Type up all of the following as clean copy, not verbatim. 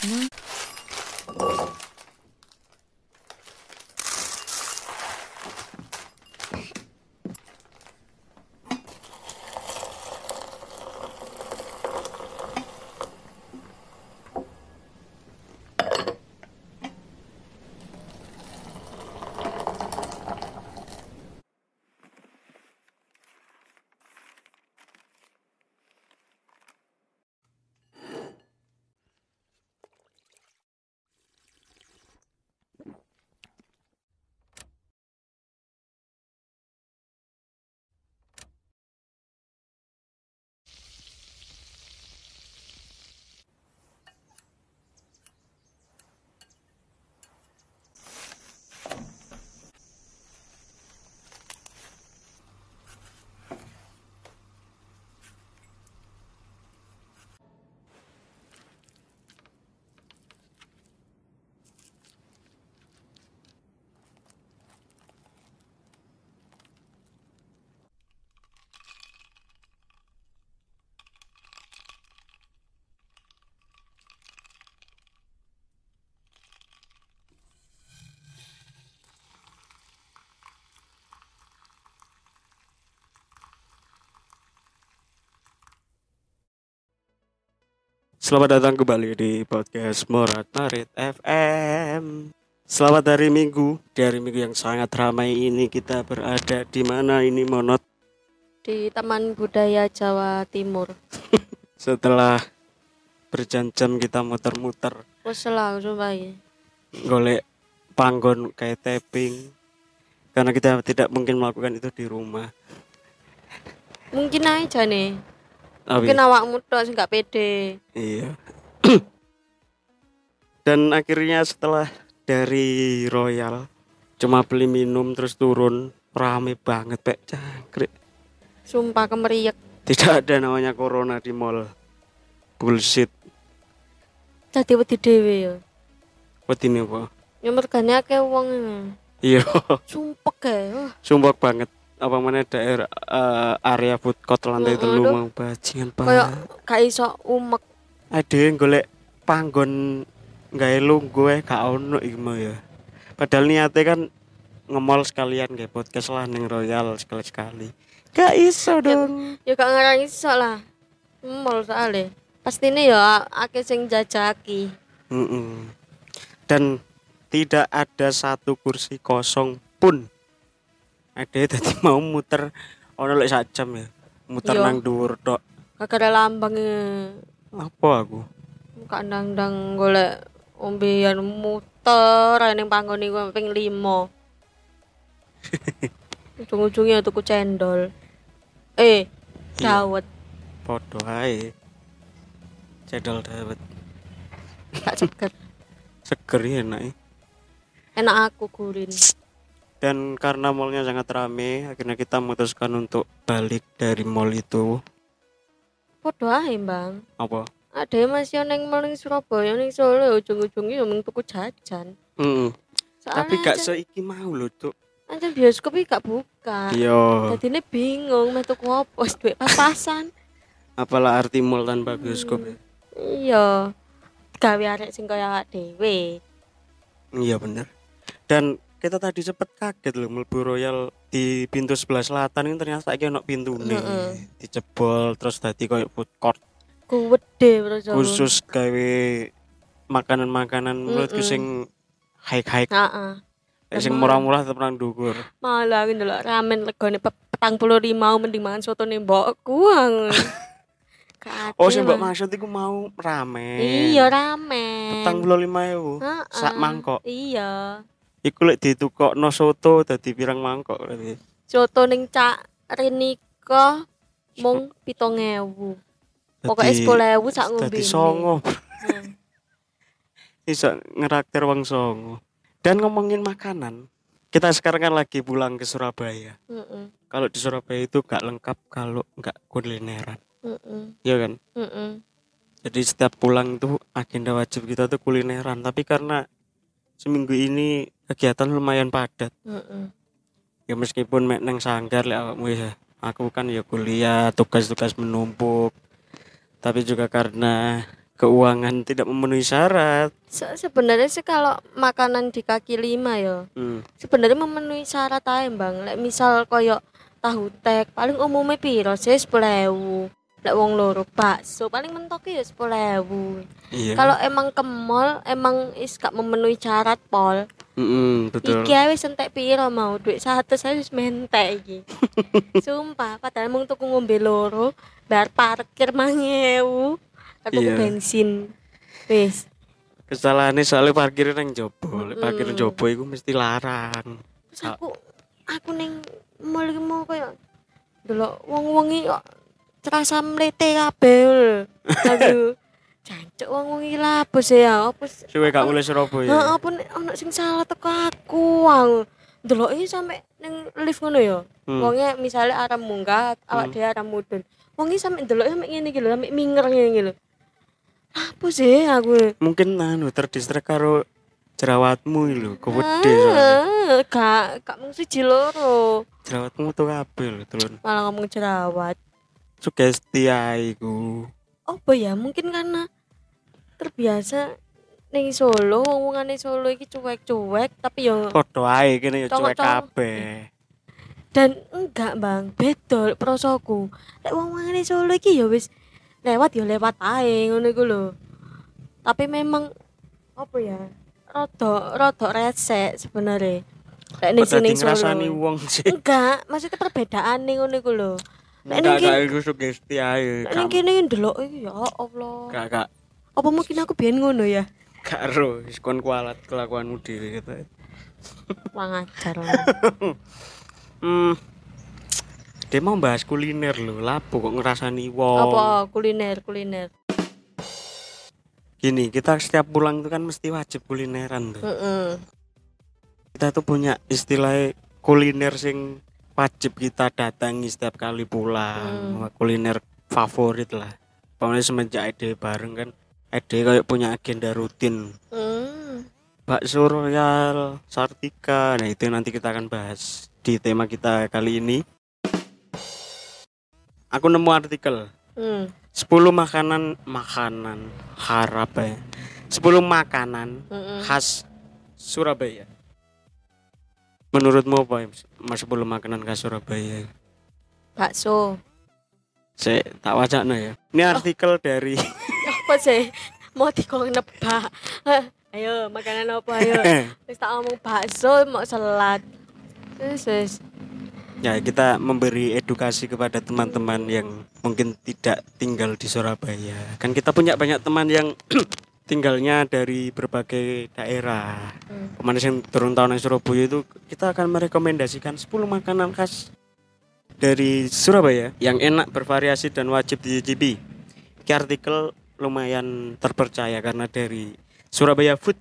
Selamat datang kembali di podcast Morat Marit FM. Selamat hari Minggu. Di hari Minggu yang sangat ramai ini kita berada di mana ini, Monot? Di Taman Budaya Jawa Timur. Setelah berjam-jam kita muter-muter Selang sumpah ya. golek panggon kayak tapping, karena kita tidak mungkin melakukan itu di rumah. Mungkin aja nih. Tapi, Mungkin awakmu tok sing gak pede. iya. Dan akhirnya setelah dari Royal cuma beli minum terus turun, rame banget Pak Cangkrik. Sumpah kemeriak. Tidak ada namanya corona di mall. Bullshit. Dadi wedi dhewe ya. Wedine apa? Ya mergane akeh wong. Iya, Sumpek kae. Wah, sumpah banget. Apa mana daerah area food court lantai telu mau bajingan kayak Pak. gak iso umek. Ade golek panggon gawe lungguh gak ono iki mah ya. Padahal niate kan nge-mall sekalian kayak podcast lah ning Royal sekali-sekali. Gak iso dong. Ya gak ngarang iso lah. Mall soalnya. Pastine ya akeh sing jajaki. Dan tidak ada satu kursi kosong pun. Ada tadi mau muter ono lek sak jam ya. Muter Yo. nang dhuwur tok. Gak ada lambang Apa aku? Kak ndang-ndang golek ombean muter ning panggon iku ping 5. Ujung-ujungnya tuku cendol. Dawet. Podo ae. Cendol dawet. Gak seger. Seger ya enak. Enak aku gurin. Dan karena mallnya sangat rame, akhirnya kita memutuskan untuk balik dari mall itu. Podo ae, Bang. Apa? Ada masih neng mall ning Surabaya ning Solo ujung-ujungnya yo mung tuku jajan. Tapi gak seiki mau lho, Cuk. Anjen bioskop iki gak buka. Iya. Dadine bingung meh tuku opo wis duwe pas-pasan. Apalah arti mall tanpa bioskop ya? Iya. Gawe arek sing kaya awak dhewe. Iya bener. Dan kita tadi cepet kaget loh mlebu Royal di pintu sebelah selatan ini ternyata iki ono pintune. Dijebol terus dadi koyo food court Gede bro. khusus gawe makanan-makanan menurutku sing high-high. Heeh. Sing murah-murah tetep nang dhuwur. Malah aku ndelok ramen regane 45 mending mangan soto nih mbokku. Oh sing mbok maksud iku mau ramen. Iya ramen. 45.000 sak mangkok. Iya. Iku lek ditukokno soto dadi pirang mangkok berarti. Soto ning Cak Renika mung 7.000. Pokoke 10.000 sak ngombe. Dadi songo. Iso ngeraktir wong songo. Dan ngomongin makanan, kita sekarang kan lagi pulang ke Surabaya. Kalau di Surabaya itu gak lengkap kalau gak kulineran. Iya kan? Jadi setiap pulang itu agenda wajib kita tuh kulineran. Tapi karena seminggu ini kegiatan lumayan padat. Ya meskipun mek nang sanggar lek awakmu ya. Aku kan ya kuliah, tugas-tugas menumpuk. Tapi juga karena keuangan tidak memenuhi syarat. Sebenarnya sih kalau makanan di kaki 5 ya. Sebenarnya memenuhi syarat ae, Bang. Lek misal koyo tahu tek paling umumnya piro sih 10.000. Lek wong loro bakso paling mentoke ya 10.000. Iya. Kalau emang ke mall emang gak memenuhi syarat pol. Betul. Iki wis entek piro mau duit 100 saya wis mentek iki. Sumpah, padahal mung tuku ngombe loro, bayar parkir 5.000. Aku bensin. Wis. Kesalahane soalnya parkir nang jopo. Parkir jopo iku mesti larang. Terus aku ning mall iki mau koyo delok wong-wong iki kok terasa mlete kabeh. Aduh. Jancuk wong iki lapus ya. Apa suwe gak mulai Surabaya. Heeh, apa ono sing salah teko aku. Delok iki sampe ning lift ngono ya. Wonge misale arep munggah, awak dhewe arep mudhun. Wong iki sampe delok sampe ngene iki lho, sampe minger ngene iki lho. Apa sih aku? Mungkin terdistrek karo jerawatmu lho, kewede soalnya. Gak mung siji loro. Jerawatmu tuh kabeh lho, Tulun. Malah ngomong jerawat. Sugesti ae iku. Apa ya? Mungkin karena terbiasa ning Solo, wong-wongane Solo iki cuek-cuek, tapi yo padha ae kene yo cuek kabeh. Dan enggak, Bang, beda prosoku. Lek wong-wongane Solo iki yo wis lewat ae ngono iku lho. Tapi memang apa ya? Rada resek sebenarnya. Lek ning sini Solo. Ngrasani wong sih. Enggak, maksudnya perbedaane ngono iku lho. Nek ning iku sugesti ae. Nek kene ndelok iki ya Allah. Gak. Apa mungkin aku biyen ngono ya? Gak ero, wis kon kualat kelakuanmu dhewe gitu. Kurang ajar. Dia mau bahas kuliner lho, lapo kok ngerasani wong. Apa kuliner? Gini, kita setiap pulang itu kan mesti wajib kulineran tuh. Kita tuh punya istilah kuliner sing wajib kita datangi setiap kali pulang. Kuliner favorit lah. Pokoknya semenjak ide bareng kan, ide kayak punya agenda rutin. Bakso Royal, Sartika, nah itu nanti kita akan bahas di tema kita kali ini. Aku nemu artikel 10 makanan harap ya 10 makanan khas Surabaya. Menurutmu apa ya 10 makanan khas Surabaya? Bakso. Saya tak wacana ya. Ini artikel dari apa sih? Mau dikon nebak. Ayo makanan apa ayo. Wis tak ngomong bakso mau selat. Terus ya kita memberi edukasi kepada teman-teman yang mungkin tidak tinggal di Surabaya. Kan kita punya banyak teman yang tinggalnya dari berbagai daerah. Kemana yang turun tahun di Surabaya itu kita akan merekomendasikan 10 makanan khas dari Surabaya yang enak, bervariasi dan wajib dicicipi. Ini artikel lumayan terpercaya karena dari Surabaya Food.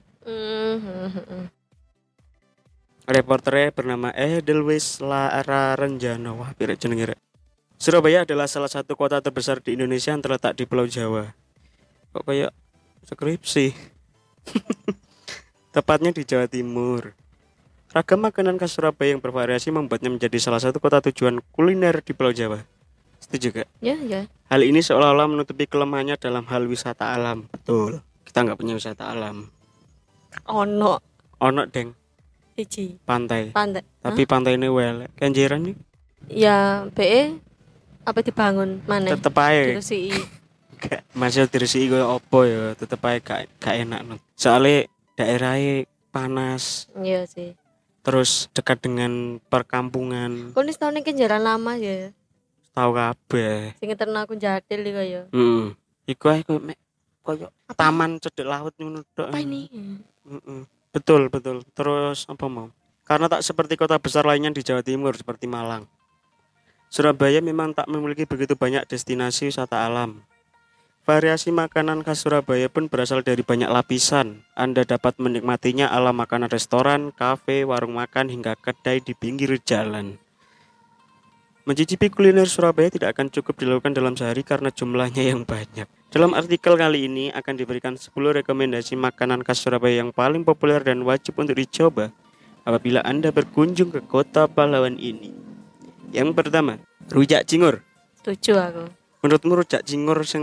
Reporternya bernama Edelweiss Lara Renjana. Wah, pirek jenenge rek. Surabaya adalah salah satu kota terbesar di Indonesia yang terletak di Pulau Jawa. Kok kayak skripsi. Tepatnya di Jawa Timur. Ragam makanan khas Surabaya yang bervariasi membuatnya menjadi salah satu kota tujuan kuliner di Pulau Jawa. Setuju gak? Ya. Hal ini seolah-olah menutupi kelemahannya dalam hal wisata alam. Betul. Kita nggak punya wisata alam. Ono, Deng. siji. Pantai. Hah? Tapi pantai ini kenjeran nih. Ya, BE apa dibangun mana? Tetep aja. Diresiki. Masih diresiki koyo opo ya, tetep aja gak enak. Soalnya daerahnya panas. Iya sih. Terus dekat dengan perkampungan. Kok nis tahun ini kenjaran lama ya? Tahu kabeh. Sing ternak aku jadil iki ya. Iku ae koyo taman cedek laut ngono tok. Apa ini? Betul. Terus apa mau? Karena tak seperti kota besar lainnya di Jawa Timur seperti Malang. Surabaya memang tak memiliki begitu banyak destinasi wisata alam. Variasi makanan khas Surabaya pun berasal dari banyak lapisan. Anda dapat menikmatinya ala makanan restoran, kafe, warung makan hingga kedai di pinggir jalan. Mencicipi kuliner Surabaya tidak akan cukup dilakukan dalam sehari karena jumlahnya yang banyak. Dalam artikel kali ini akan diberikan 10 rekomendasi makanan khas Surabaya yang paling populer dan wajib untuk dicoba apabila Anda berkunjung ke kota pahlawan ini. Yang pertama, rujak cingur. Setuju aku. Menurutmu rujak cingur yang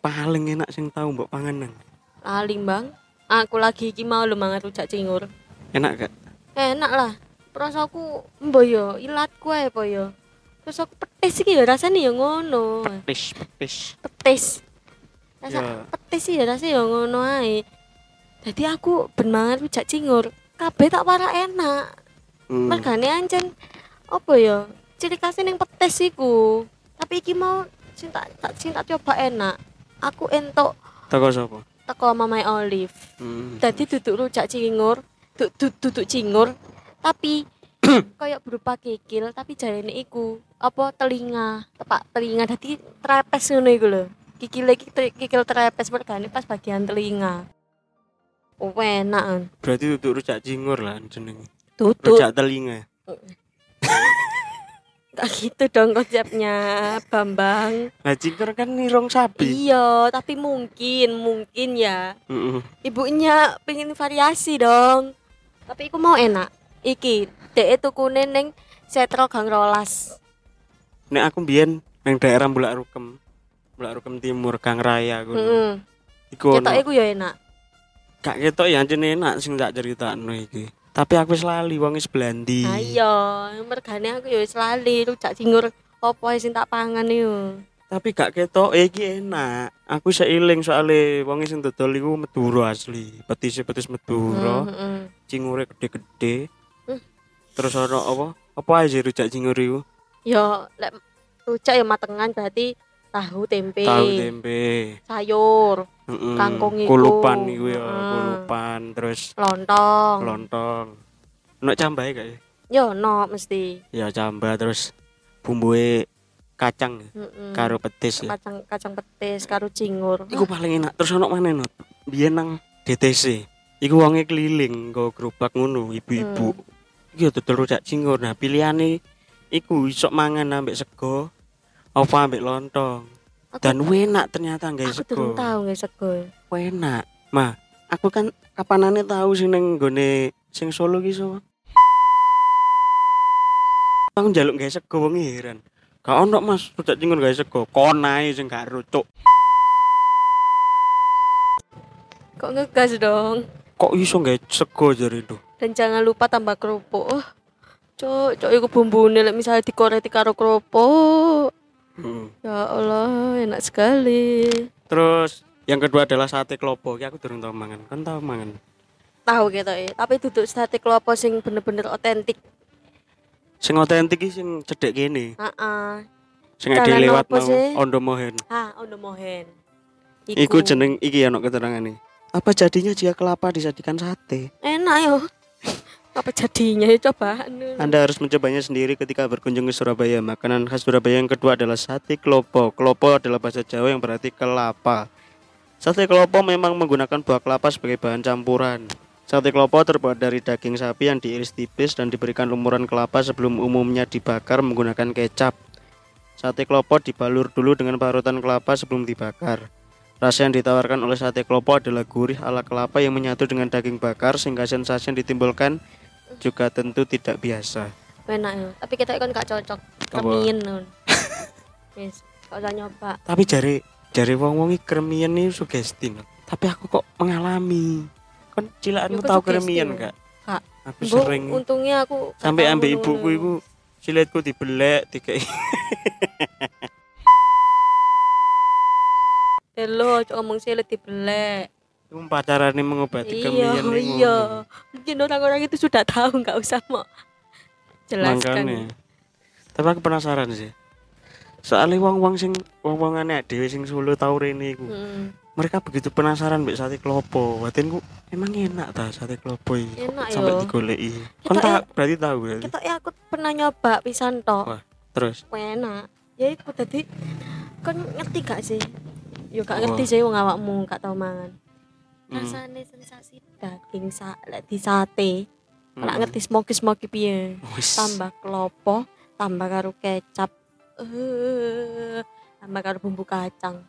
paling enak sing tau mbok pangan nang? Lali, Bang. Aku lagi iki mau lho mangan rujak cingur. Enak gak? Enak lah. Rasaku mbo yo ilatku ae po yo. Terus aku petis iki ya rasane ya ngono. Petis. Rasa petis sih ya rasane ya ngono ae. Jadi aku ben mangan rujak cingur, kabeh tak parah enak. Mergane ancen apa ya? Ciri khasnya ning petis iku. Tapi iki mau sing tak coba enak. Aku entuk teko sapa? teko Mamae Olive. Dadi duduk rujak cingur, duduk cingur, tapi kayak berupa kikil, tapi jarene iku apa telinga, tepak telinga dadi trepes ngono iku lho. Kikil trepes mergane pas bagian telinga. Oh, enak kan. Berarti duduk rujak cingur lah jenenge. Duduk Rujak telinga. Gak gitu dong konsepnya, Bambang. Lah cingur kan nirong sapi. Iya, tapi mungkin ya. Ibunya pengen variasi dong. Tapi aku mau enak. Iki, dek tukune ning Setro Gang Rolas. Nek aku mbiyen nang daerah Bulak Rukem Timur, Gang Raya ngono. Iku Ketok iku ya enak. Gak ketok ya jenenge enak sing tak critakno iki. Tapi aku wis lali wong wis blandi. Ayo, mergane aku ya wis lali rujak cingur opo sing tak pangan yo. Tapi gak ketok iki enak. Aku seiling soalé wong sing dodol iku Madura asli. Petis Madura. Cingure gede-gede. Terus ono apa? Apa aja rujak cingur iku? Yo, lek rujak ya matengan berarti tahu tempe. Sayur. Kangkung iku. Kulupan iku ya, kulupan terus lontong. Ono cambahe gak ya? Yo, ono mesti. Ya cambah terus bumbuhe kacang karo petis ya. Kacang petis karo cingur. Iku paling enak. Terus ono maneh Not. Biyen nang DTC. Iku wonge keliling nggo gerobak ngono, ibu-ibu. Iki dodol rujak cingur. Nah, pilihane iku iso mangan ambek sego apa ambek lontong. Dan enak ternyata guys sego. Aku durung tahu guys sego. Enak. Mah, aku kan kapanane tahu sing ning nggone sing Solo ki so. Aku njaluk guys sego wong heran. Gak ono Mas, rujak cingur guys sego. Kon ae sing gak rucuk. Kok ngegas dong? Kok iso guys sego jare itu? Dan jangan lupa tambah kerupuk. Cok iku bumbune lek misale dikoreti karo kerupuk. Ya Allah, enak sekali. Terus yang kedua adalah sate klopo. Ki aku durung tau mangan. Kan tau mangan? Tahu gitu ya. Tapi duduk sate klopo sing bener-bener otentik. Sing otentik ki sing cedek kene. Heeh. Sing ade lewat nang Ondo Mohen. Ondo Mohen. Iku jeneng iki ono keterangane. Apa jadinya jika kelapa disajikan sate? Enak yo. Apa jadinya ya coba. Anda harus mencobanya sendiri ketika berkunjung ke Surabaya. Makanan khas Surabaya yang kedua adalah sate klopo. Klopo adalah bahasa Jawa yang berarti kelapa. Sate klopo memang menggunakan buah kelapa sebagai bahan campuran. Sate klopo terbuat dari daging sapi yang diiris tipis dan diberikan lumuran kelapa sebelum umumnya dibakar menggunakan kecap. Sate klopo dibalur dulu dengan parutan kelapa sebelum dibakar. Rasa yang ditawarkan oleh sate klopo adalah gurih ala kelapa yang menyatu dengan daging bakar sehingga sensasi yang ditimbulkan juga tentu tidak biasa. Enak ya, tapi kita kan gak cocok. Kremien nun. Wis, gak usah nyoba. Tapi jare wong-wong iki kremien iki sugesti. Tapi aku kok mengalami. Kan cilakanmu tahu kremien gak? Kak. Aku sering. Untungnya aku sampai ambek ibuku iku silitku dibelek dikei. Hello, ngomong silit dibelek. Itu pacarane mengobati kremien ning. Iya. Mungkin orang-orang itu sudah tahu, enggak usah mau jelaskan. Makanya. Tapi aku penasaran sih. Soalnya wong-wongane dhewe sing Solo tau rene iku. Mereka begitu penasaran mbek sate klopo. Batinku emang enak ta sate klopo iki. Sampai digoleki. Kon tak berarti tahu berarti. Kita aku pernah nyoba pisan tok. Wah, terus enak. Ya iku tadi kon ngerti gak sih? Yo gak ngerti sih wong awakmu gak tau mangan. Rasane sensasi daging di sate. Nek ngerti smoky piye. Tambah klopo, tambah karo kecap. Tambah karo bumbu kacang.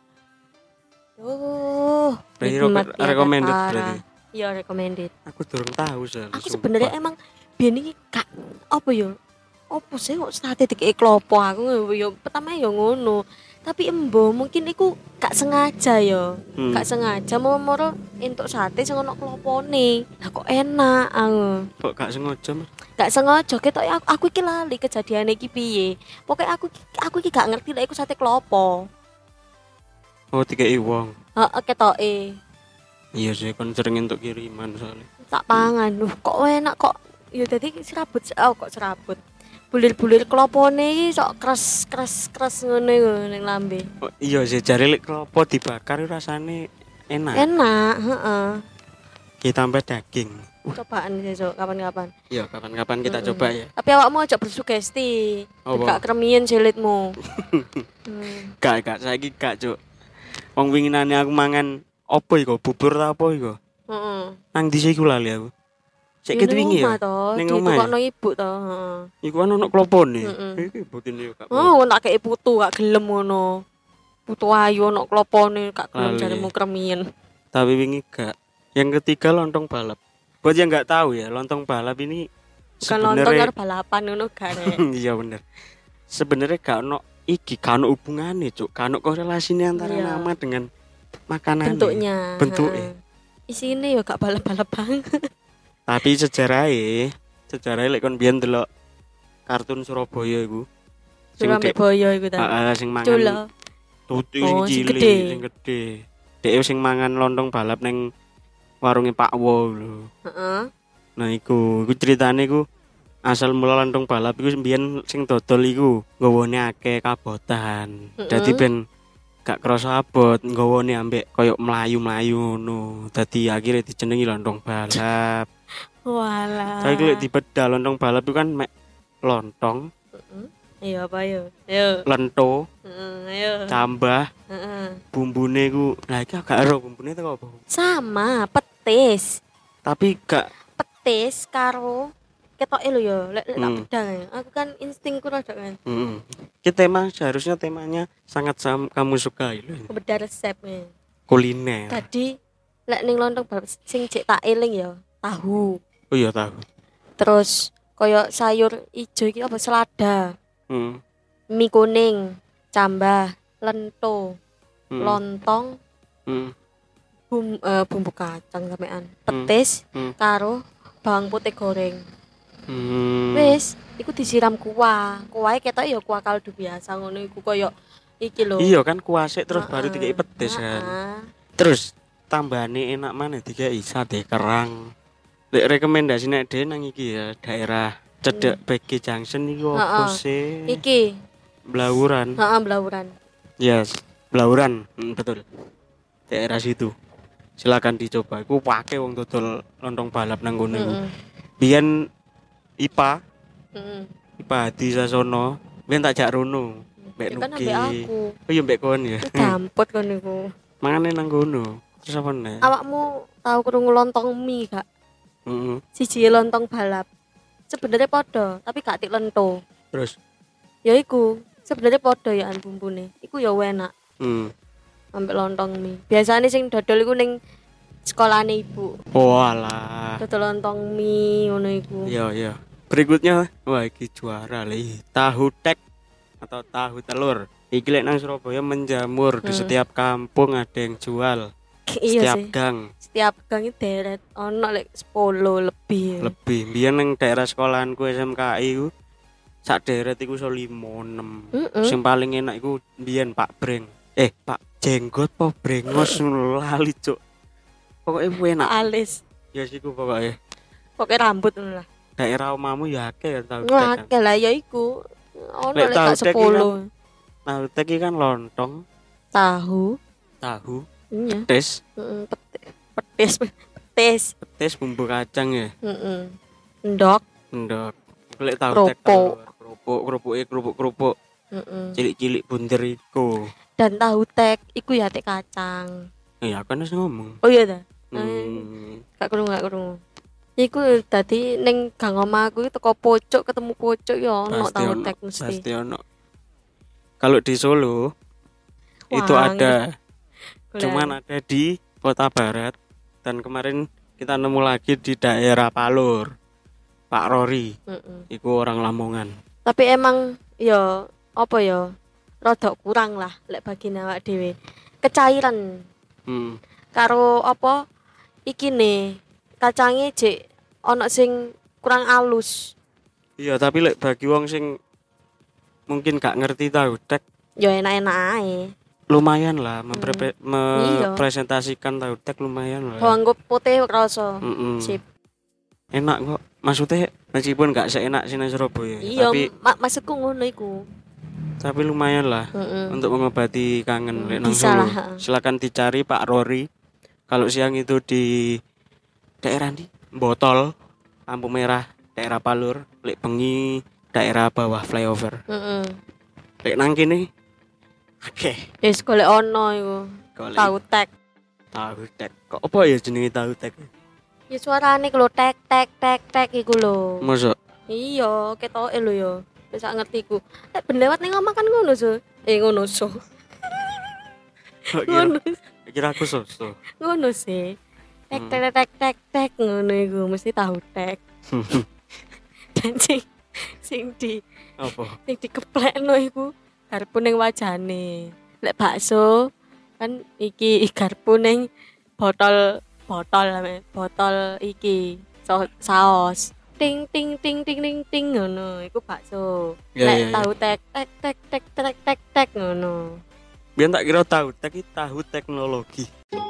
Recommended berarti. Iya, recommended. Aku durung tahu sih. Aku sebenarnya emang biyen iki gak apa yo. Apa sih kok sate dikek klopo aku yo pertama yo ngono. Tapi embo mungkin iku gak sengaja ya. Gak sengaja moro entuk sate sing ono klopone. Lah kok enak aku. Kok gak sengaja, Mas? Gak sengaja ketok aku iki lali kejadiane iki piye. Pokoke aku iki gak ngerti lek iku sate klopo. Oh, dikei wong. Heeh, ketoke. Iya sih, kon sering entuk kiriman soalnya. Tak pangan. Kok enak kok. Ya dadi serabut. Oh, kok serabut. Bulir-bulir klopone iki sok kres ngono iku ning lambe. Oh, iya sih, jare lek klopo dibakar rasane enak. Enak, heeh. Ditambah daging. Cobaan sesuk kapan-kapan. Iya, kapan-kapan kita coba ya. Tapi awakmu aja bersugesti. Gak kremian silitmu. Gak saiki gak, Cuk. Wong winginane aku mangan opo iku? Bubur ta apa iku? Heeh. Nang ndi sih iku lali aku. Sik ket wingi ya. Ning omah. Ditukokno ibu to, heeh. Iku kan ono klopone. Iki butine yo gak. Oh, tak kei putu gak gelem ngono. Putu ayu ono klopone gak gelem jaremu kremien. Tapi wingi gak. Yang ketiga lontong balap. Buat yang nggak tahu ya, lontong balap ini bukan lontong karo balapan ngono gak rek. Iya bener. Sebenarnya gak ono iki, gak ono hubungane, Cuk. Gak ono korelasinya antara nama dengan makanan. Bentuknya. Isine yo gak balap-balap banget. Tapi sejarahnya lek kon biyen delok kartun Surabaya iku. Surabaya iku ta. Heeh, sing mangan. Tutu sing gede. Dhek sing mangan lontong balap ning warunge Pak Wo lho. Heeh. Nah iku ceritane iku asal mula lontong balap iku mbiyen sing dodol iku nggawane akeh kabotan. Dadi ben gak krasa abot nggawane ambek koyo mlayu-mlayu ngono. Dadi akhire dijenengi lontong balap. Walah. Saiki lek dibedal lontong balap itu kan mek lontong. Iya apa yo? Yo. Lento. Ayo. Tambah. Bumbune ku, lah iki gak ero bumbune teko apa? Sama, petis. Tapi gak petis karo ketoke lho ya, lek tak bedang. Aku kan instingku rada kan. Ki tema seharusnya temanya sangat kamu sukai lho. Beda resepnya. Kuliner. Tadi lek ning lontong balap sing cek tak eling ya, tahu. Oh iya tahu. Terus koyo sayur ijo iki apa selada. Mie kuning, cambah, lento, lontong, bumbu kacang sampean, petis, karo bawang putih goreng. Wis, iku disiram kuah. Kuahe ketok ya kuah kaldu biasa ngono iku koyo iki lho. Iya kan kuah sik terus baru dikei petis kan. Terus tambahane enak maneh dikei sate kerang. Lek rekomendasi nek dhewe nang iki ya daerah cedek BG Junction iku opo sih? Iki Blauran. Blauran. Yes, Blauran, betul. Daerah situ. Silakan dicoba. Iku pake wong dodol lontong balap nang kono iku. Biyen IPA. IPA Hadi Sasono, biyen tak jak rono. Mbek Nuki. Kan ambek aku. Oh iya mbek kon ya. Dampot kon niku. Mangane nang kono. Terus apa nek? Awakmu tahu krungu lontong mie gak? Siji lontong balap. Sebenarnya podo, tapi gak tik lento. Terus ya iku sebenarnya podo ya bumbune. Iku ya enak. Ambek lontong mie. Biasane sing dodol iku ning sekolahane ibu. Walah. Dodol lontong mie ngono iku. Iya. Berikutnya, wah iki juara li. Tahu tek atau tahu telur. Iki lek nang Surabaya menjamur di setiap kampung ada yang jual. Iya setiap sih. gang. Setiap gang itu deret ono lek 10 lebih. Lebih. Biyen nang daerah sekolahanku SMKI ku sak deret iku iso 5-6. Sing paling enak iku biyen Pak Breng. Pak Jenggot po Brengos lali, Cuk. Pokoke enak. Alis. Ya siku pokoke. Pokoke rambut ngono lah. Daerah omamu ya akeh ya tahu tek. Akeh lah ya iku. Ono lek 10. Tahu tek kan lontong, tahu, iya. Petis. Petis Bumbu kacang ya. Endok. Lek tahu tek kerupuk. Cilik-cilik bunder iku. Dan tahu tek iku ya tek kacang. Iya kan wis ngomong. Oh iya ta. Gak krungu. Iku dadi ning gang omahku teko pojok ketemu pojok ya ono tahu tek mesti. Pasti ono. Kalau di Solo itu ada. Cuman ada di Kota Barat dan kemarin kita nemu lagi di daerah Palur. Pak Rory. Iku orang Lamongan. Tapi emang ya apa ya? rada kurang lah lek bagine awak dhewe. Kecairan. Hmm. Karo apa iki ne kacange jek ana sing kurang alus. Iya, tapi lek bagi wong sing mungkin gak ngerti tahu tek Ya enak-enak ae. lumayan lah Iya. mempresentasikan tahu tek lumayan lah. Bawang putih rasa. Mm-mm. Sip. Enak kok. Maksudnya meskipun gak seenak sini Surabaya, Iya, tapi maksudku ngono iku. lumayan lah untuk mengobati kangen lek nang Bisa Solo. lah. Silakan dicari Pak Rory. Kalau siang itu di daerah di Botol, lampu merah, daerah Palur, lek bengi daerah bawah flyover. Lek nang kene akeh. Wis golek ono iku. Golek Tahu tek. tahu tek. Kok apa ya jenenge tahu tek? Ya suarane lho tek tek tek tek iku lho. Mosok Iya, ketoke lho ya. Wis gak ngerti ku. Lek ben lewat ning omah kan ngono so. Ngono so. kok kira, Ngono. kira aku soso. Ngono sih. Tek tek tek tek tek ngono iku mesti tahu tek. Dan sing dikeplekno iku garpu ning wajane. Lek bakso kan iki garpu ning botol iki saos. Ting ting ting ting ting ting ngono iku bakso. Lek tahu tek tek tek tek tek tek tek ngono. Biar tak kira tahu tek tahu teknologi.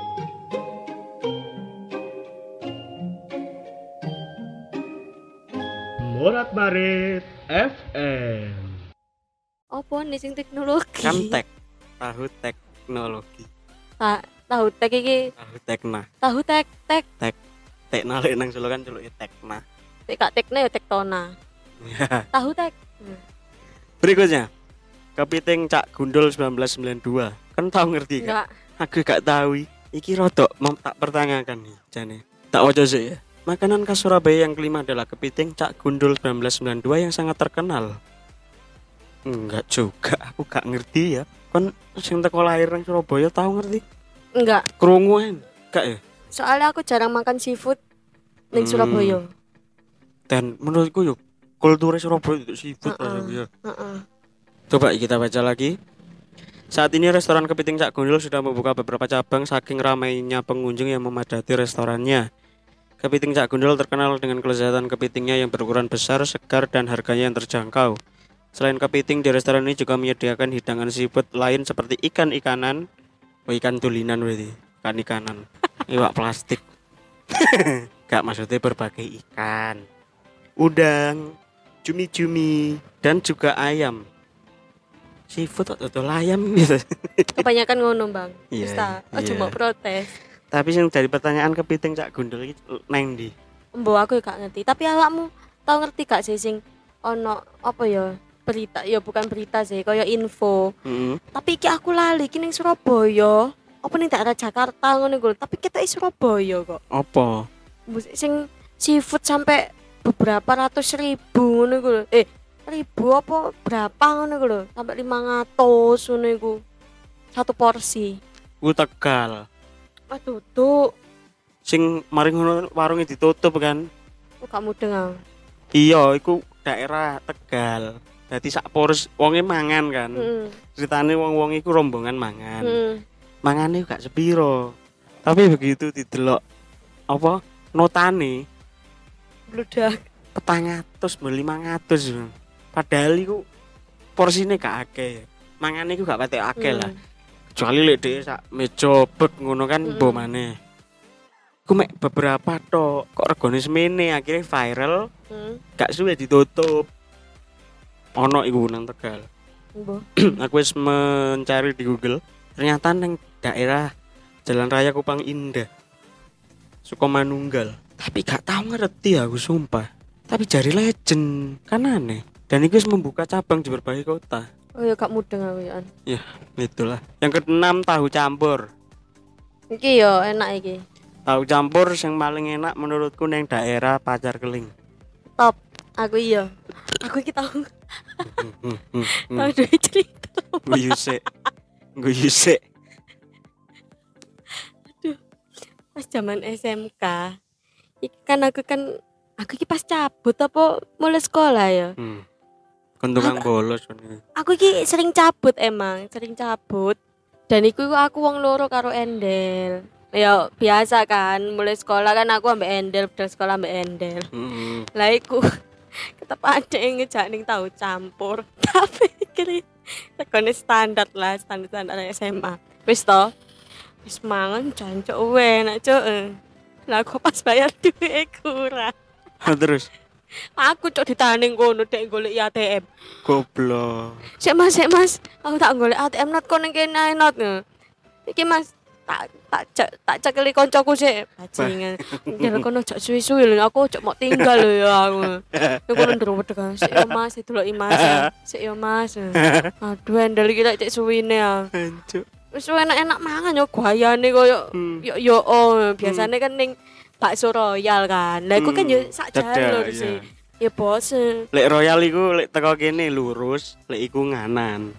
Morat Marit FM. Apa nih sing teknologi? Kan tek tahu teknologi. Tahu tek iki Tahu tekna. tahu tek tek Tekna lek nang Solo kan celuke tekna. tek gak tekne ya tektona. Ya. Tahu tek. Berikutnya. Kepiting Cak Gundul 1992. Kan tahu ngerti kan? Enggak. Aku gak tahu. Iki rodok tak pertanyakan nih jane. Tak waca sih ya. Makanan khas Surabaya yang kelima adalah kepiting Cak Gundul 1992 yang sangat terkenal. Enggak juga, aku gak ngerti ya. Kan sing teko lahir nang Surabaya tahu ngerti? Enggak. Krunguan. Gak ya? Soalnya aku jarang makan seafood ning Surabaya. Dan menurutku yuk kultur Surabaya itu seafood ya. Coba kita baca lagi. Saat ini restoran Kepiting Cak Gundul sudah membuka beberapa cabang saking ramainya pengunjung yang memadati restorannya. Kepiting Cak Gundul terkenal dengan kelezatan kepitingnya yang berukuran besar, segar, dan harganya yang terjangkau. Selain kepiting, di restoran ini juga menyediakan hidangan seafood lain seperti ikan-ikanan, ikan tulinan berarti, ikan-ikanan, iwak plastik. Gak maksudnya berbagai ikan, udang, cumi-cumi, dan juga ayam. Seafood atau ayam gitu. Kebanyakan ngono, Bang. Iya, Wis ta, aja iya. mau protes. Tapi yang dari pertanyaan Kepiting Cak Gundul iki neng ndi? Mbok aku gak ngerti, tapi awakmu tau ngerti gak sih sing ono apa ya? Berita, ya bukan berita sih, kaya info. Tapi iki aku lali iki ning Surabaya. Apa ning daerah Jakarta ngono iku, tapi kita Surabaya kok. Apa? Sing seafood sampai beberapa ratus ribu ngono iku lho. Ribu apa berapa ngono iku lho, sampai 500 ngono iku. Satu porsi. Ku Tegal. Aduh, tuh. Sing mari ngono warungnya ditutup kan. Kok gak mudeng aku. Iya, iku daerah Tegal. Dadi sak pores wonge mangan kan. Ceritane wong-wong iku rombongan mangan. Mangane gak sepiro. Tapi begitu didelok apa notane Bludak. 400 500. Padahal iku porsine gak akeh. Mangane iku gak patek akeh lah. Kecuali lek dhewe sak meja bek ngono kan mbok maneh. Ku mek beberapa tok kok regane semene akhirnya viral. Gak suwe ditutup. Ono iku nang Tegal. Aku wis mencari di Google. Ternyata nang daerah Jalan Raya Kupang Indah. Sukomanunggal. Tapi gak tahu ngerti aku sumpah. Tapi jari legend kan aneh. Dan itu membuka cabang di berbagai kota. Oh ya gak mudeng aku ya. Ya, itulah. Yang keenam tahu campur. Iki yo enak iki. Tahu campur yang paling enak menurutku neng daerah Pacar Keling. Top. Aku iya. Aku iki tahu. Tahu dhewe cerita. Guyu sik. Aduh. Pas zaman SMK, iki kan aku iki pas cabut apa mulai sekolah ya. Kon tukang bolos kon. Aku iki sering cabut. Dan iku aku wong loro karo Endel. Ya biasa kan, mulai sekolah kan aku ambek Endel, budal sekolah ambek Endel. Lah iku ketep ade ngejak ning tahu campur. Tapi iki tekone standar SMA. Wis to. Wis mangan jancuk enak cuk. Lah kok pas bayar duit kurang. Terus Aku cok ditahan ning kono dek golek ATM. goblok. Sik Mas, aku tak golek ATM not kono kene not. Iki Mas, tak cekeli koncoku sik bajingan. Njaluk kono cok suwi-suwi lho, aku cok mau tinggal lho ya aku. Yo kono ndro wedeg. Sik yo Mas, deloki Mas. Sik yo Mas. Aduh, endel iki cek suwine ya. Hancur. Wis enak-enak mangan yo gayane koyo yo biasane kan ning bakso royal kan. Lah iku kan yo sak jalur sih. Ya bosen. Lek royal iku lek teko kene lurus, lek iku nganan.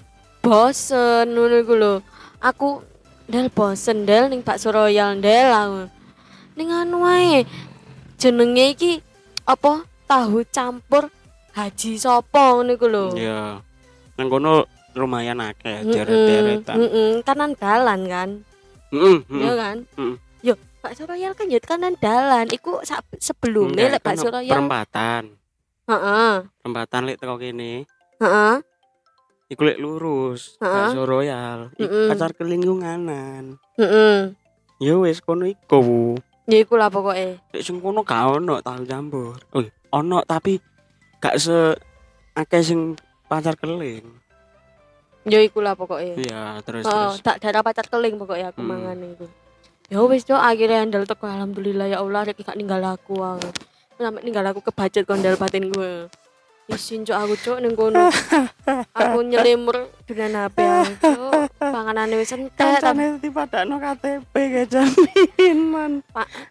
Bosen ngono iku lho. Aku ndel bosen ndel ning bakso royal ndel aku. Ning anu wae. Jenenge iki apa? Tahu campur Haji Sopo ngono iku lho. Iya. Nang kono lumayan akeh deret-deretan. Kanan dalan kan. Iya kan? Yo, bakso royal kan yo kanan dalan. Iku sebelumnya lek bakso royal perempatan. Heeh. Perempatan lek teko kene. Heeh. Iku lek lurus, bakso royal. Pacar keling yo nganan. Yo wis kono iku. Ya iku lah pokoke. Lek sing kono gak ono tahu campur. Ono tapi gak se akeh sing pacar keling. Ya iku lah pokoke. Iya, terus. Tak darah pacar keling pokoke aku mangan iku. Ya wis cok akhirnya handal teko alhamdulillah ya Allah rek gak ninggal aku. Sampai ninggal aku kebajet kondel batin gue. Isin cok aku cok ning kono. Aku nyelimur dengan HP cok. Panganane wis entek Kancane dipadakno KTP ge jaminan.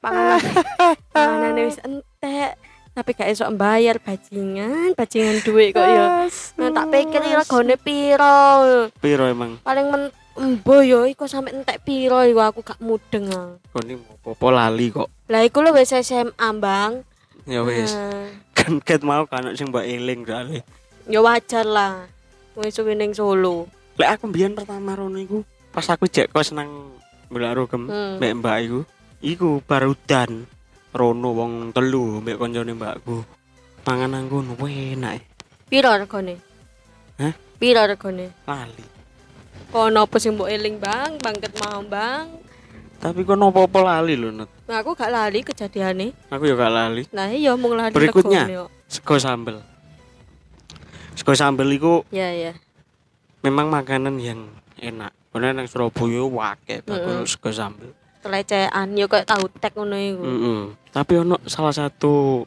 Panganane wis entek. Tapi gak esok bayar bajingan duit kok ya. Nah, tak pikir regane piro. Piro emang? Paling embo yo iku sampe entek piro iku aku gak mudeng. Koni opo lali kok. Lah iku lho wis SMA, Bang. Ya wis. Kan ket mau kan sing mbak eling soalé. Ya wajar lah. Wis suwe ning Solo. Lek aku mbiyen pertama rono iku pas aku jek kos nang Mbak Rogem mbek mbak iku. Iku barudan rono wong telu mbek koncone mbakku. Mangan nang kono enak. Piro regane? Hah? Piro regane? Lali. Kono apa sing mbok eling, Bang? Bangket mau, Bang. Tapi kok nopo-opo lali lho, Nut. Nah, aku gak lali kejadiane. Aku ya gak lali. Nah, iya mung lali Berikutnya, sego sambel. Sego sambel iku ya. memang makanan yang enak. Karena nang Surabaya akeh bakul sego sambel. Kelecehan yo kayak tahu tek ngono iku. Tapi ono salah satu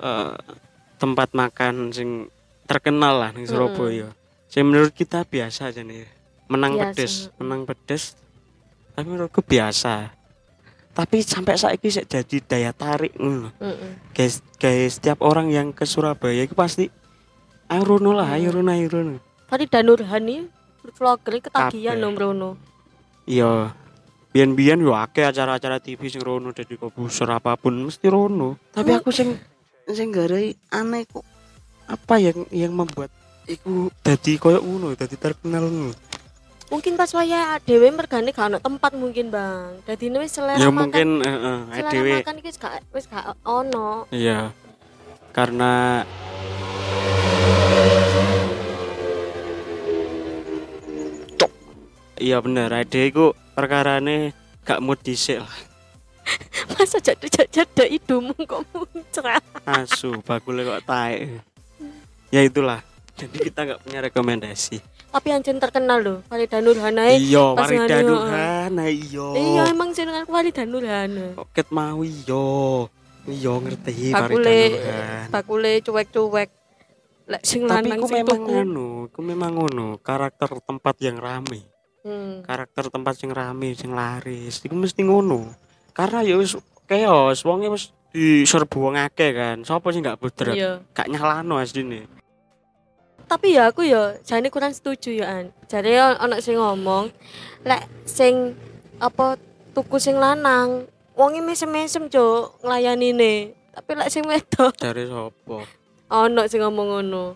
tempat makan sing terkenal lah ning Surabaya. Sing menurut kita biasa aja nih. Menang pedes. Tapi menurutku biasa. Tapi sampai saiki sik jadi daya tarik ngono. Guys, setiap orang yang ke Surabaya itu pasti ayo rono. Tadi Danurhani vlogger ketagihan nang rono. Iya. Biyen-biyen yo akeh acara-acara TV sing rono dadi kobusor apapun mesti rono. Tapi aku sing garai aneh kok apa yang membuat iku dadi koyo ngono, dadi terkenal ngono. Mungkin pas waya dhewe mergane gak ono tempat mungkin, Bang. Dadine wis selera ya, makan. Mungkin dhewe makan iki wis gak ono. Iya. Karena iya bener, ade iku perkarane gak mood dhisik lah. Masa jaduk hidungmu kok muncrat. Asu, bakule kok taek. Ya itulah. Jadi kita gak punya rekomendasi. Tapi anjen terkenal lho, Farida Nurhana. Iya, Farida Nurhana iya. Iya, emang jenengan Farida Nurhana. Kok ket mau iya. Iya ngerti Farida Nurhana. Bakule cuek-cuek. Lek sing lanang sing tuku. Ku memang ngono, karakter tempat yang rame. Karakter tempat sing rame, sing laris, iku mesti ngono. Karena ya wis chaos, wonge wis diserbu wong akeh kan. Sopo sing gak budrek? Gak nyalano asline. Tapi ya aku ya jane kurang setuju ya An. Jare ana sing ngomong lek sing apa tuku sing lanang wonge mesem-mesem cuk nglayanine. Tapi lek sing wedok jare sapa? ana sing ngomong ngono.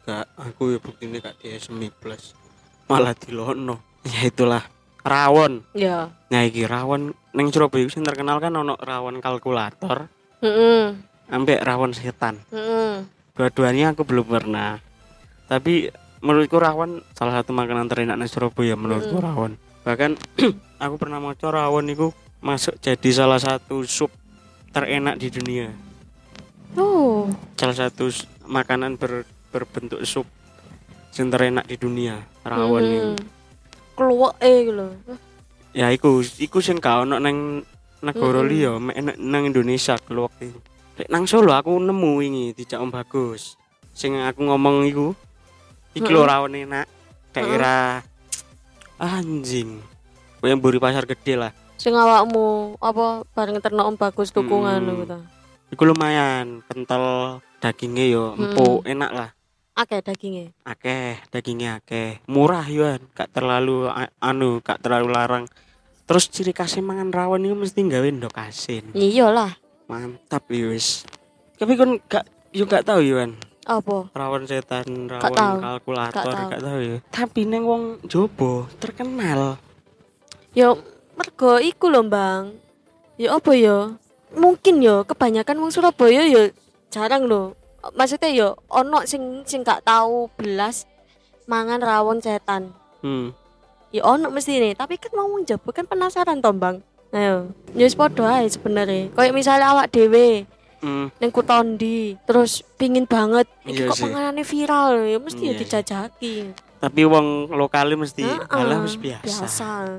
gak aku ya buktine gak di SMI plus. Malah dilono. Ya itulah rawon. Ya. Nah iki rawon ning Surabaya sing terkenal kan ono rawon kalkulator, ambek rawon setan. Dua-duanya aku belum pernah. Tapi menurutku rawon salah satu makanan terenak di Surabaya menurutku rawon. Bahkan aku pernah maca rawon itu masuk jadi salah satu sup terenak di dunia. Oh. Salah satu makanan berbentuk sup yang terenak di dunia, rawon ini. Kluweke lho. Ya iku sing gak ono nang negara liya, nang Indonesia kluwek iki. Lek nang Solo aku nemu wingi dijak Om Bagus. Sing aku ngomong iku iki lho rawon enak. Daerah anjing. Kowe mburi pasar gede lah. Sing awakmu apa bareng terno Om Bagus tukungan ngono ta. Iku lumayan, kental dagingnya yo empuk, enak lah. Akeh dagingnya. Dagingnya akeh. Murah yo, gak terlalu gak terlalu larang. Terus ciri khasnya mangan rawon itu mesti gawe ndok asin. Iyalah. Mantap yo wis. Tapi kon gak tahu yo kan. Apa? Rawon setan, rawon kalkulator gak tahu yo. Tapi neng wong Jobo terkenal. Yo mergo iku lho, Bang. Ya apa yo? Mungkin yo kebanyakan wong Surabaya yo jarang lho. Maksudnya yo ono sing gak tahu belas mangan rawon setan. Ya ono mesti nih, tapi kan mau Jobo kan penasaran toh, Bang. Ayo, ya wis padha ae sebenarnya. Kayak misalnya awak dhewe ning Kutondi, terus pingin banget iki kok panganane viral ya mesti ya dijajaki. Tapi wong lokale mesti alah wis biasa.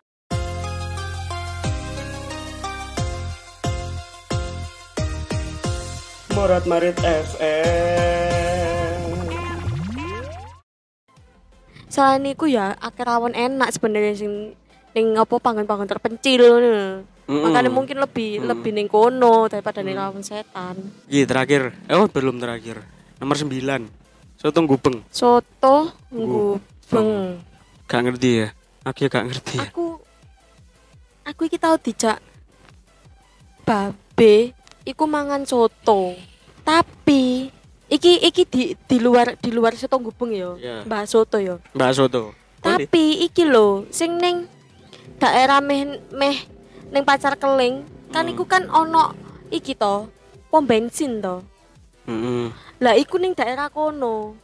Morat Marit FM. Selain iku ya akeh rawon enak sebenarnya sing ning apa panggon-panggon terpencil ngono. Makanya mungkin lebih ning kono daripada ning rawon setan. Iki terakhir. Belum terakhir. Nomor 9. Soto gubeng. Soto gubeng. Gak ngerti ya. Aku gak ngerti ya. Aku iki tau dijak babe iku mangan soto. Tapi iki di luar soto gubeng ya. Mbak soto ya. Mbak soto. Tapi iki lho sing ning daerah meh ning Pacar Keling kan iku kan ono iki to, pom bensin to. Lah iku ning daerah kono.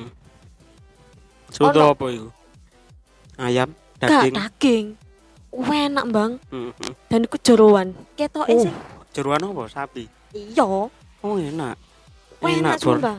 Soto apa iku? Ayam, daging. Daging. Enak, Bang. Dan iku jeroan. Ketoke sing jeroan apa? Sapi. Iya. Oh, enak. Enak sumpah.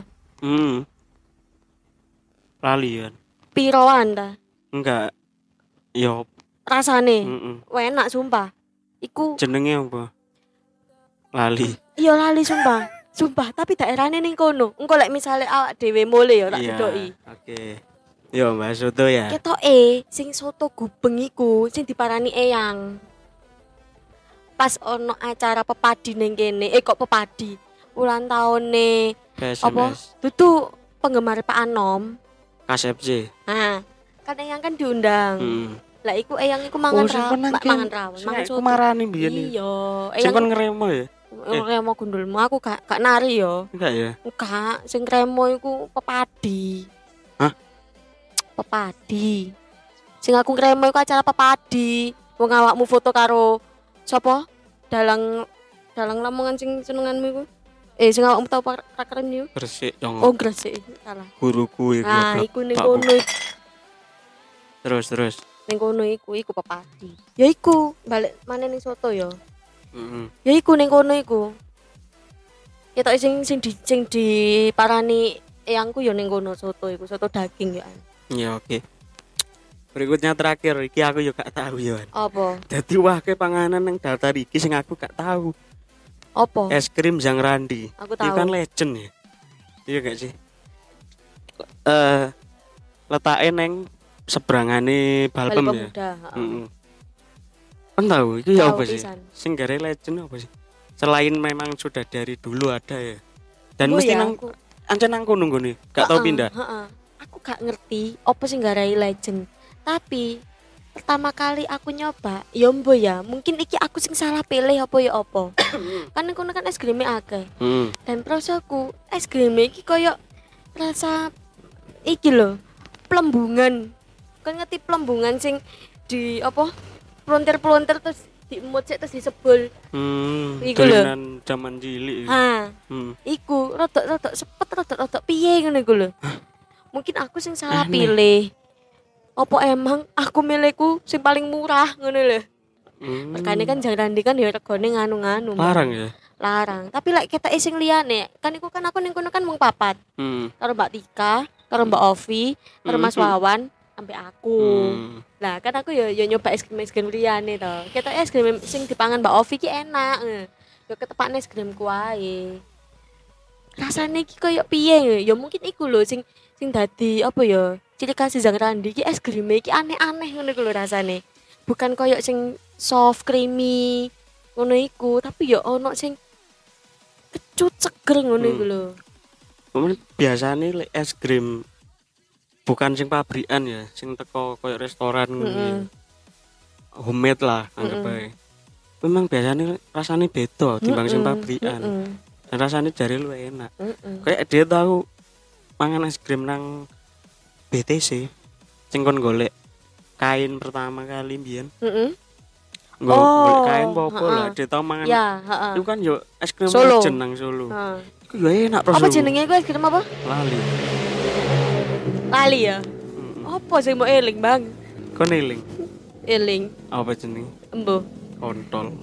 Lali kan. Piroan ta? Enggak. Yo rasane. Enak sumpah. Iku jenenge apa? Lali. Iya lali sumpah. Sumpah, tapi daerahnya ning kono. Engko lek misale awak dhewe mule ya tak cedoki. Oke. Yo Mbak Soto ya. Ketoke sing soto gubeng iku sing diparani eyang. Pas ono acara pepadi ning kene, kok pepadi. Ulang tahune apa? Dudu penggemar Pak Anom. KSFC. Nah, kan eyang kan diundang. Lah iku eyang iku mangan rawon, mangan soto. Aku marani mbiyen iki. Iya, eyang. Sing kon ngremo ya? Ngremo gundulmu aku gak nari yo. Enggak ya? Enggak, sing ngremo iku pepadi. Hah? Pepadi. Sing aku ngremo iku acara pepadi. Wong awakmu foto karo sapa? Dalang Lamongan sing senenganmu iku. Sing awakmu tau prakeren yo. Gresik dong. Oh, Gresik. Salah. Guruku iku. Nah, iku ning kono. Terus. Ning kono iku pepadi. Ya iku, balik maneh ning soto ya. Ya iku ning kono iku. Ketok sing diparani eyangku ya ning kono soto iku, soto daging ya. Ya oke. Berikutnya terakhir iki aku yo gak tahu yo. Apa? Dadi wake panganan nang daftar iki sing aku gak tahu. Apa? Es krim Jang Randi. Aku tahu. Itu kan legend ya. Iya gak sih? Letake neng seberangane Balpem ya. Kan tahu itu ya apa sih? Sing gare legend apa sih? Selain memang sudah dari dulu ada ya. Dan mesti nang ancen nang kono nggone, gak tau pindah. Aku gak ngerti apa sing garai legend. Tapi pertama kali aku nyoba, ya mbo ya, mungkin iki aku sing salah pilih apa ya apa. Kan kono kan es krim akeh. Dan prosoku es krim iki koyo rasa iki lho, plembungan. Kan ngerti plembungan sing di apa? Pelontir-pelontir terus diemut sik terus disebul. Iku lho. Dolanan zaman cilik. Ha. Iku rodok-rodok sepet rodok-rodok piye ngono iku lho. Mungkin aku sing salah pilih. Apa emang aku milihku sing paling murah ngono lho. Makanya kan jangan kan ya regane nganu-nganu. Larang ya. Larang. Tapi lek ketek sing liyane, kan iku kan aku ning kono kan mung papat. Karo Mbak Tika, karo Mbak Ovi, karo Mas Wawan, sampai aku. Lah kan aku ya nyoba es krim liyane to. Ketok es krim sing dipangan Mbak Ovi ki enak. Ya ketepakne es krimku wae. Rasane iki koyo piye ya mungkin iku lho sing dadi apa ya? Ciri khas Jang Randi ki es krim iki aneh-aneh ngono iku lho rasane. Bukan koyo sing soft creamy ngono iku, tapi ya ono sing kecut seger ngono iku lho. Biasane lek es krim bukan sing pabrikan ya, sing teko koyo restoran ngono. Homemade lah anggap bae. Memang biasanya rasanya beda timbang sing pabrikan. Dan rasanya jare lu enak. Kayak dia tahu mangan es krim nang BTC sing kon golek kain pertama kali mbiyen. Golek kain apa lah, dia tahu mangan. Ya, Itu kan yo es krim jeneng Solo. Iku yo enak Apa jenenge iku es krim apa? Lali ya. Apa sing mau eling, Bang? Kon eling. Eling. Apa jenenge? Embo. Kontol.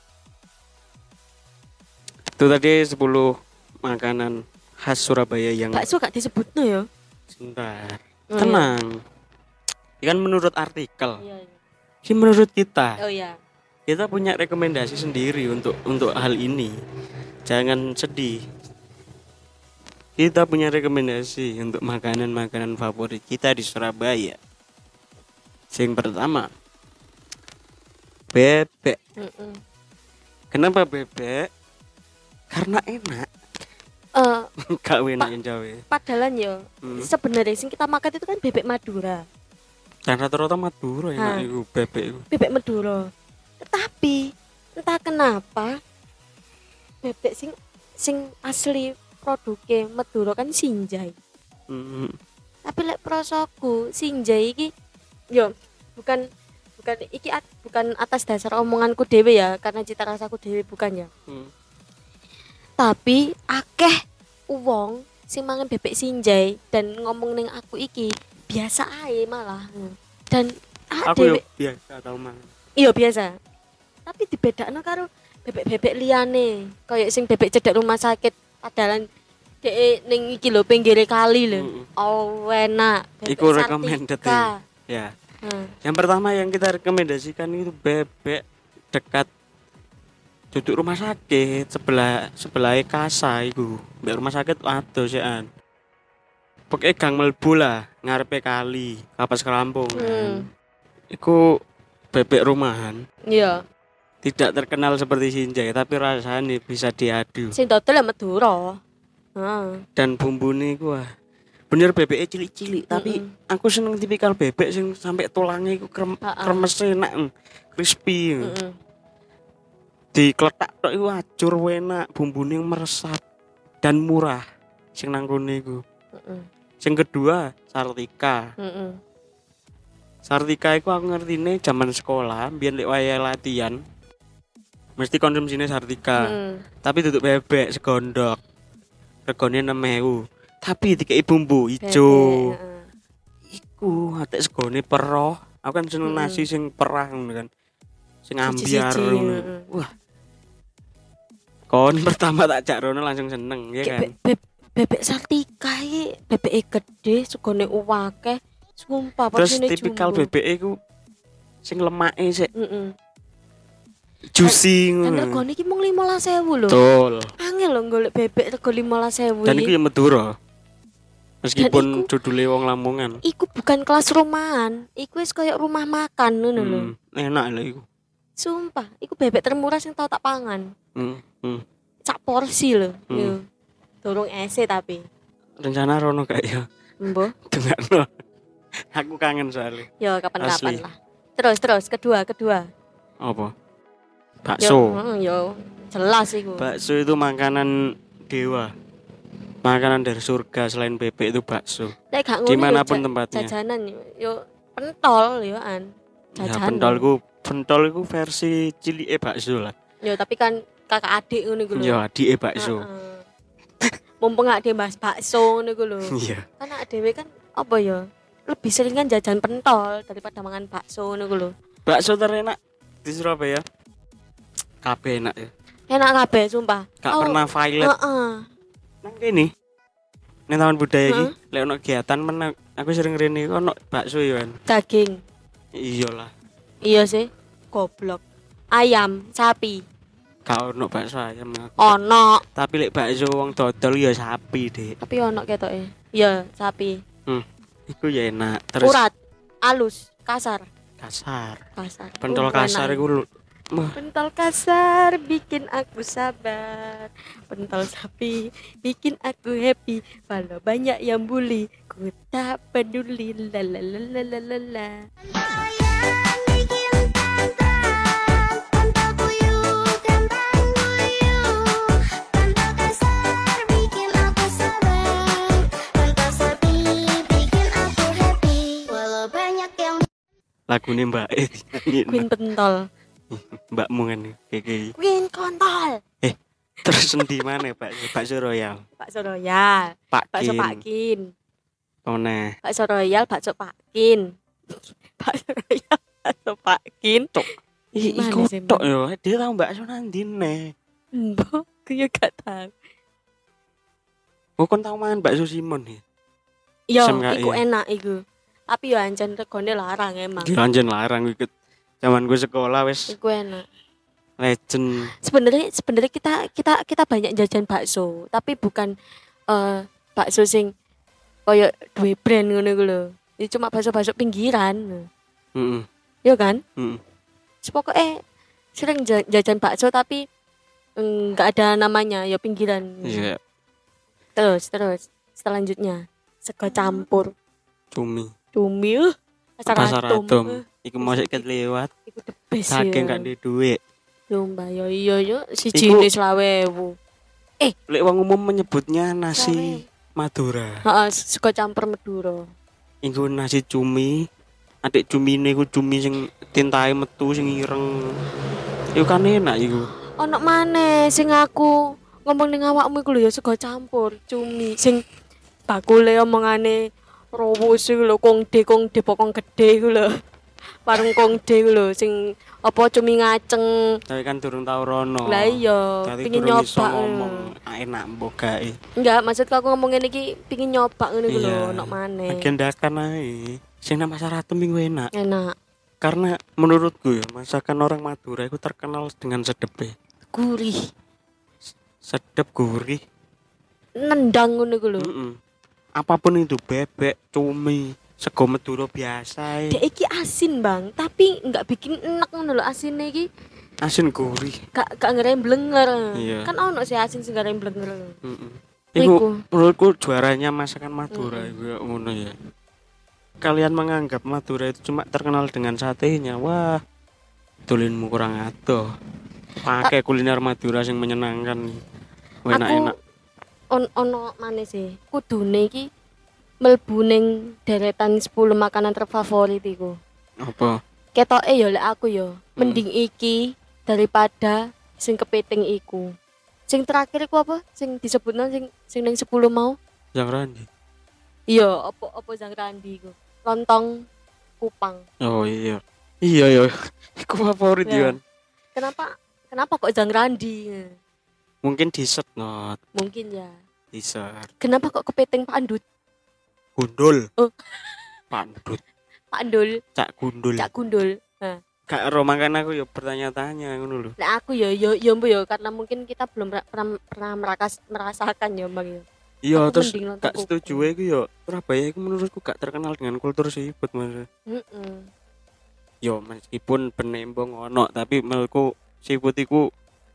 Itu tadi 10 makanan khas Surabaya yang bakso gak disebutno ya. Sebentar. Tenang. Ini kan menurut artikel. Iya. Ini menurut kita. Oh iya. Kita punya rekomendasi sendiri untuk hal ini. Jangan sedih. Kita punya rekomendasi untuk makanan-makanan favorit kita di Surabaya. Yang pertama, bebek. Kenapa bebek? Karena enak. Gak enak yang Jawa. Padahal yo sebenarnya sing kita makan itu kan bebek Madura. Dan rata-rata Madura enak itu bebek itu. Bebek Madura. Tetapi entah kenapa bebek sing asli produknya Madura kan Sinjai. Tapi lek prosoku Sinjai iki yo bukan atas dasar omonganku dhewe ya, karena cita rasaku dhewe bukan ya. Tapi akeh uwong sing mangan bebek Sinjai dan ngomong ning aku iki biasa ae malah. Dan aku yo biasa tau mangan. Iya biasa. Tapi dibedakno karo bebek-bebek liyane, kayak sing bebek cedek rumah sakit padahal dhek ning iki lho pinggire kali lho. Oh enak. Iku recommended ya. Yang pertama yang kita rekomendasikan itu bebek dekat duduk rumah sakit sebelah kasa iku. Mbek rumah sakit adoh sekan. Pokoke gang mlebu lah ngarepe kali, Kapas Kerampung. Iku bebek rumahan. Iya. Tidak terkenal seperti Sinjai tapi rasanya bisa diadu. Sing dodol ya Madura. Dan bumbune iku bener bebeknya cilik-cilik tapi aku seneng tipikal bebek sing sampai tulangnya iku kremes enak, crispy. Dikletak tok iku ajur enak, bumbune meresap dan murah sing nang kene iku. Sing kedua Sartika. Sartika iku aku ngertine zaman sekolah biyen lek waya latihan mesti konsumsine Sartika. Tapi duduk bebek segondok. Regane 6.000. Tapi dikei bumbu ijo. Iku atek segone peroh. Aku kan seneng nasi sing perah ngono kan. Sing ambiar ngono. Wah. Kon pertama tak jak rono langsung seneng ya kan. Bebek Sartika iki bebeke gede, segone uwake. Sumpah terus tipikal bebek iku sing lemake sik. Juicy ngono. Kan regane iki mung 15.000 lho. Betul. Angel lho golek bebek rego 15.000. Dan iku ya Madura. Meskipun judule wong Lamongan. Iku bukan kelas rumahan, iku wis koyo rumah makan ngono lho. Enak lho iku. Sumpah, iku bebek termurah sing tau tak pangan. Sak porsi lho. Yo. Dorong ese tapi. Rencana rono gak ya? Mbah. Dengakno. Aku kangen soalnya. Yo kapan-kapan lah. Terus kedua. Apa? Bakso. Yo jelas iku. Bakso itu makanan dewa. Makanan dari surga selain bebek itu bakso. Nek gak ngono Dimanapun tempatnya. jajanan yo pentol yo an. Ya Jajanan. pentolku versi cilike bakso lah. Yo tapi kan kakak adik ngono iku lho. Ya adike bakso. Mumpung adek Mas bakso ngono iku lho. Iya. Kan dhewe kan apa ya? Lebih sering kan jajan pentol daripada mangan bakso ngono iku lho. Bakso terenak di Surabaya. Kabeh enak ya. Enak kabeh sumpah. Gak pernah violet. Heeh. Nang kene. Ning taman budaya iki, lek ono kegiatan menang, aku sering rene ono bakso yo kan. Daging. Iyalah. Iya sih. Goblok. Ayam, sapi. Gak ono bakso ayam. Ono. Tapi lek bakso wong dodol ya sapi, Dik. Tapi ono ketoke. Iya, sapi. Iku ya enak. Terus Urat, alus, kasar. kasar. Kasar. Pentol kasar iku Pentol kasar bikin aku sabar. Pentol sapi bikin aku happy. Walau banyak yang bully, ku tak peduli. La la la la la la la. lagune Mbak Queen pentol. Mbakmu kan kayak Queen kontol. terus endi mana bakso royal Bakso royal. Pak Bakso Kin Pak Kin. Mana Bakso royal, bakso Pak Kin. Bakso royal, bakso Pak Kin. Gimana iku sih, Mbak? tok yo dia tahu bakso nanti nih Mbok, aku ya gak tahu. kon tahu mangan bakso Simon nih Yo, SMKI. iku enak iku. Tapi yo ancen regane larang emang. dilanjut larang ikut zaman gue sekolah wes Iku enak. legend Sebenarnya kita banyak jajan bakso, tapi bukan bakso sing koyo duwe brand ngono iku lho. Ini cuma bakso-bakso pinggiran. heeh Yo kan? heeh Pokoknya sering jajan bakso tapi enggak ada namanya, ya pinggiran. iya Terus selanjutnya sego campur cumi cumi pasar atom. atom iku mau sik lewat Iku the best saking ya. gak di duit Lomba yo iya yo Iku- 1.20.000. lek wong umum menyebutnya nasi Madura Heeh, sego campur Madura. iku nasi cumi adik cumine iku cumi sing tintahe metu sing ireng iku kan enak iku Ono maneh sing aku ngomong ning awakmu iku lho ya sego campur cumi sing bakule omongane rowo sing lho kongde pokong gede iku lho. Warung kongde iku lho sing apa cumi ngaceng. tapi kan durung tau rono Lah iya, Dadi pengin durung iso nyoba. ngomong enak mbok gae Enggak, maksudku aku ngomong ngene iki pengin nyoba ngono iku lho, Iya. ono maneh. agendakan ae sing nang pasar atom iku enak Enak, karena menurutku ya masakan orang Madura itu terkenal dengan sedepnya gurih, sedep gurih nendang ngono iku lho. apapun itu bebek cumi sego Madura biasa Dek iki asin, Bang, tapi enggak bikin enak ngono lho asine iki. asin gurih Gak ngeremblenger. Iya. Kan ono sih asin sing ngeremblenger. Iku Iku. menurutku juaranya masakan Madura iku ya ngono ya. Kalian menganggap Madura itu cuma terkenal dengan satenya. Wah, tulinmu kurang adoh. Pakai kuliner Madura yang menyenangkan. Enak-enak. Ono maneh sih. Kudune iki mlebu ning deretan 10 makanan terfavorit iku. Apa? Ketoke ya lek aku ya, mending iki daripada sing kepiting iku. Sing terakhir iku apa? Sing disebutno sing ning 10 mau? Yang Randi. Iya, apa Jang Randi iku. Lontong Kupang. Oh iya. Iya ya. Iku favorit Ya. Yuan. Kenapa kok Jang Randi? Mungkin dessert not. Mungkin ya. Dessert. Kenapa kok kepiting pandut? Gundul. Oh. Pandut. Pandul, Cak gundul. Cak Gundul. Nah, Kak Ro makan aku ya bertanya-tanya ngono lho. nah aku ya mbo ya karena mungkin kita belum pernah merasakan ya Bang ya. Iya Aku terus mending nonton gak setuju iku yo Surabaya iku menurutku gak terkenal dengan kultur seafood Mas. Heeh. Yo meskipun penembong ono tapi menurutku seafood iku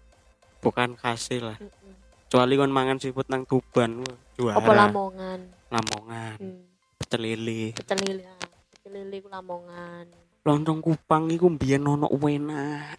bukan khas lah. Kecuali kon mangan seafood nang Tuban wah juara. Apa Lamongan? Lamongan. Pecel lele. Pecel lele. Pecel lele ku Lamongan. Lontong Kupang iku mbiyen ono enak.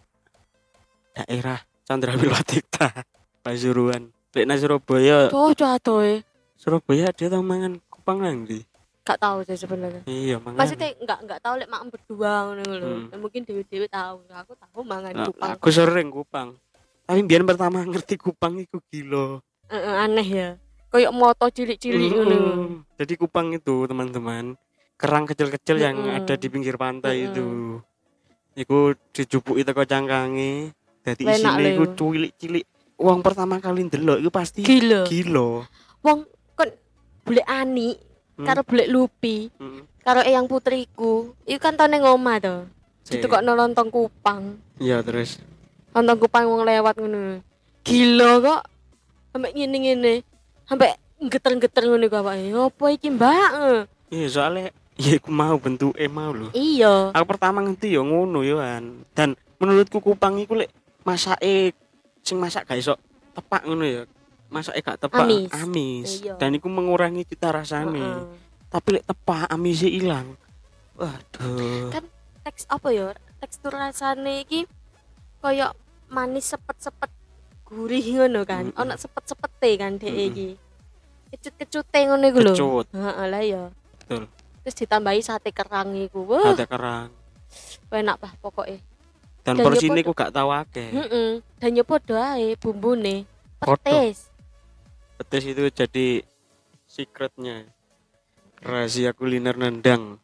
Daerah Candrawilwatikta, Pasuruan. Lek nang Surabaya Cocok atoe. Surabaya dia tau mangan kupang nang ndi? Gak tahu sih sebenarnya. Iya, mangan. Maksudnya enggak tahu lek mak berdua ngono lho. Mungkin dewe-dewe tahu. Aku tahu mangan kupang. Aku sering kupang. Tapi biar pertama ngerti kupang iku gila. Aneh ya. Kayak moto cilik-cilik ngono. Jadi kupang itu, teman-teman, kerang kecil-kecil yang ada di pinggir pantai itu. Iku dijupuki teko cangkange. Dadi isine iku cilik-cilik. Wong pertama kali ndelok iku pasti gila. Wong kon boleh ani karo boleh lupi. Karo eyang putriku, iku kan tau ning omah to. Itu kok nonton kupang. Iya, terus nonton kupang wong lewat ngono. Gila kok. Sampai ngene-ngene. Sampai geter-geter ngono kok awake. Opo iki, Mbak? Iya, soalnya ya aku mau bentuke mau lho. Iya. Aku pertama ngerti ya ngono yoan. Dan menurutku kupang iku lek masake sing masak gak iso tepak ngono ya. Masake gak tepak amis. Dan iku mengurangi cita rasane. Tapi lek tepak amise ilang. Waduh. Kan teks apa ya? Tekstur rasane iki koyo manis sepet-sepet gurih ngono kan. Ono sepet-sepete kan dhek iki. Kecut-kecute ngono iku lho. Heeh, lah ya. Betul. Terus ditambahi sate kerang iku. Sate kerang. Enak bah pokoknya. Dan porsine ku gak tau akeh. Dan yo padha ae bumbune. Petis. Petis itu jadi secretnya. Rahasia kuliner nendang.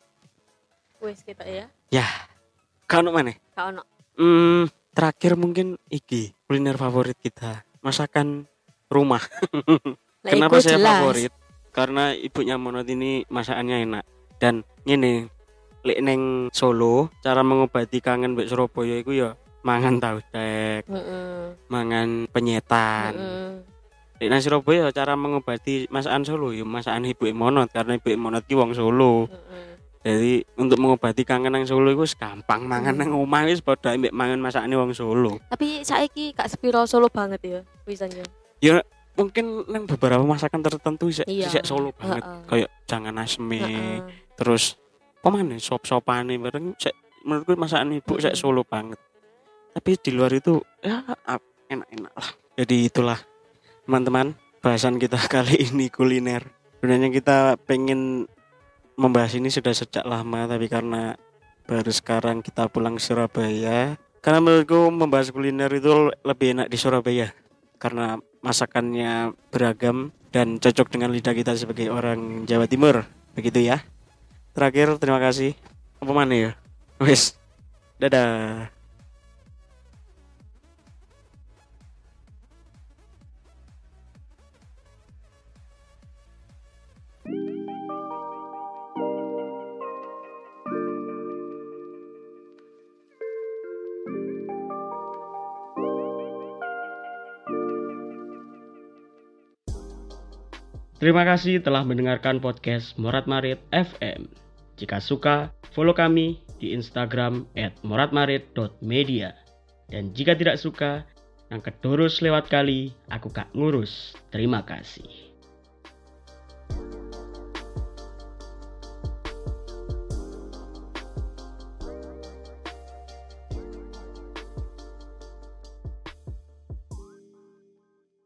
Wes kita ya. Ya. Kau ono maneh? Kau ono. Terakhir mungkin iki kuliner favorit kita. Masakan rumah. Kenapa saya favorit? Karena ibunya Monot ini masakannya enak. Dan ngene, lek neng Solo cara mengobati kangen mbek Surabaya iku ya mangan tahu tek. Mangan penyetan. Lek nang Surabaya cara mengobati masakan Solo ya masakan ibuke Monot karena ibuke Monot ki wong Solo. Jadi untuk mengobati kangen nang Solo iku gampang mangan nang omah wis padha mbek mangan masakane wong Solo. Tapi saiki gak sepiro Solo banget ya wisanya. Ya mungkin nang beberapa masakan tertentu sik Solo banget. Kayak jangan asme. Terus pemane sop-sopane bareng sik menurutku masakan ibu sik Solo banget. Tapi di luar itu ya enak-enak lah. Jadi itulah teman-teman bahasan kita kali ini kuliner. Sebenarnya kita pengen membahas ini sudah sejak lama tapi karena baru sekarang kita pulang ke Surabaya. Karena menurutku membahas kuliner itu lebih enak di Surabaya karena masakannya beragam dan cocok dengan lidah kita sebagai orang Jawa Timur. Begitu ya. Terakhir terima kasih. Apa mana ya? Wes. Dadah. Terima kasih telah mendengarkan podcast Morat Marit FM. Jika suka, follow kami di Instagram @moratmarit.media. Dan jika tidak suka, yang kedurus lewat kali, aku gak ngurus. Terima kasih.